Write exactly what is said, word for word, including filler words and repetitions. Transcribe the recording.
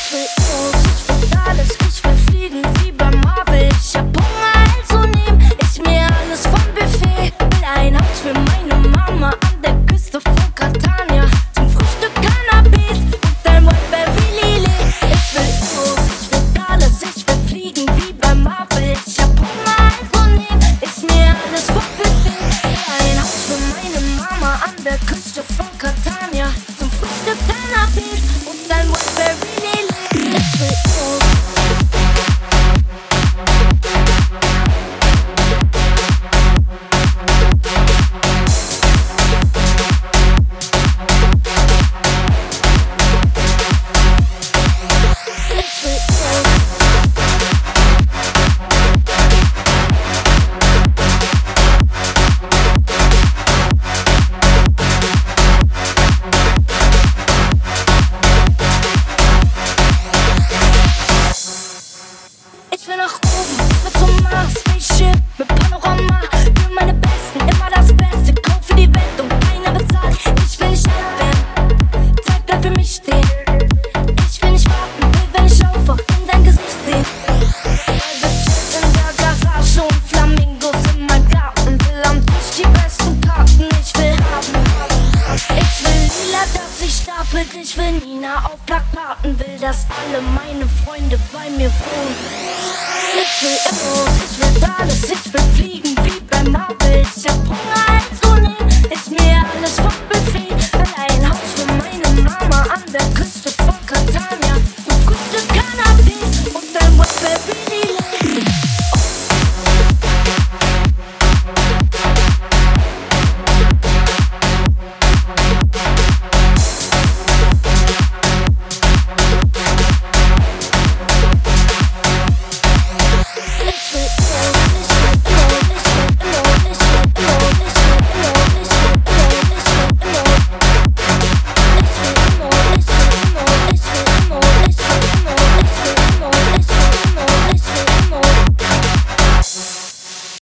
Ich will los, ich will alles, ich will fliegen wie bei Marvel. Ich hab Hunger, also nehm ich mir alles vom Buffet. Will ein Haus für meine Mama an der Küste von Catania. Zum Frühstück Cannabis und ein Whiteberry Lily. Ich will los, ich will alles, ich will fliegen wie bei Marvel. Ich hab Hunger, also nehm ich mir alles vom Buffet. Will ein Haus für meine Mama an der Küste von Catania. Zum Frühstück Cannabis und ein Whiteberry Lily. Ich will los. Ich will nach oben, ich will zum Mars, Spaceship mit Panorama. Für meine Besten, immer das Beste. Kauf für die Welt und keiner bezahlt. Ich will nicht alt werden, Zeit bleibt für mich stehen. Ich will nicht warten, will, wenn ich aufwach, in dein Gesicht sehen. Bitches in der Garage und Flamingos in meinem Garten. Will am Tisch die besten Karten, ich will haben. Ich will lila, dass sich stapelt. Ich will Nina auf Plakaten. Will, dass alle meine Freunde bei mir wohnen. Ich will los, ich will alles, ich will fliegen wie bei Marvel. Ich hab Hunger.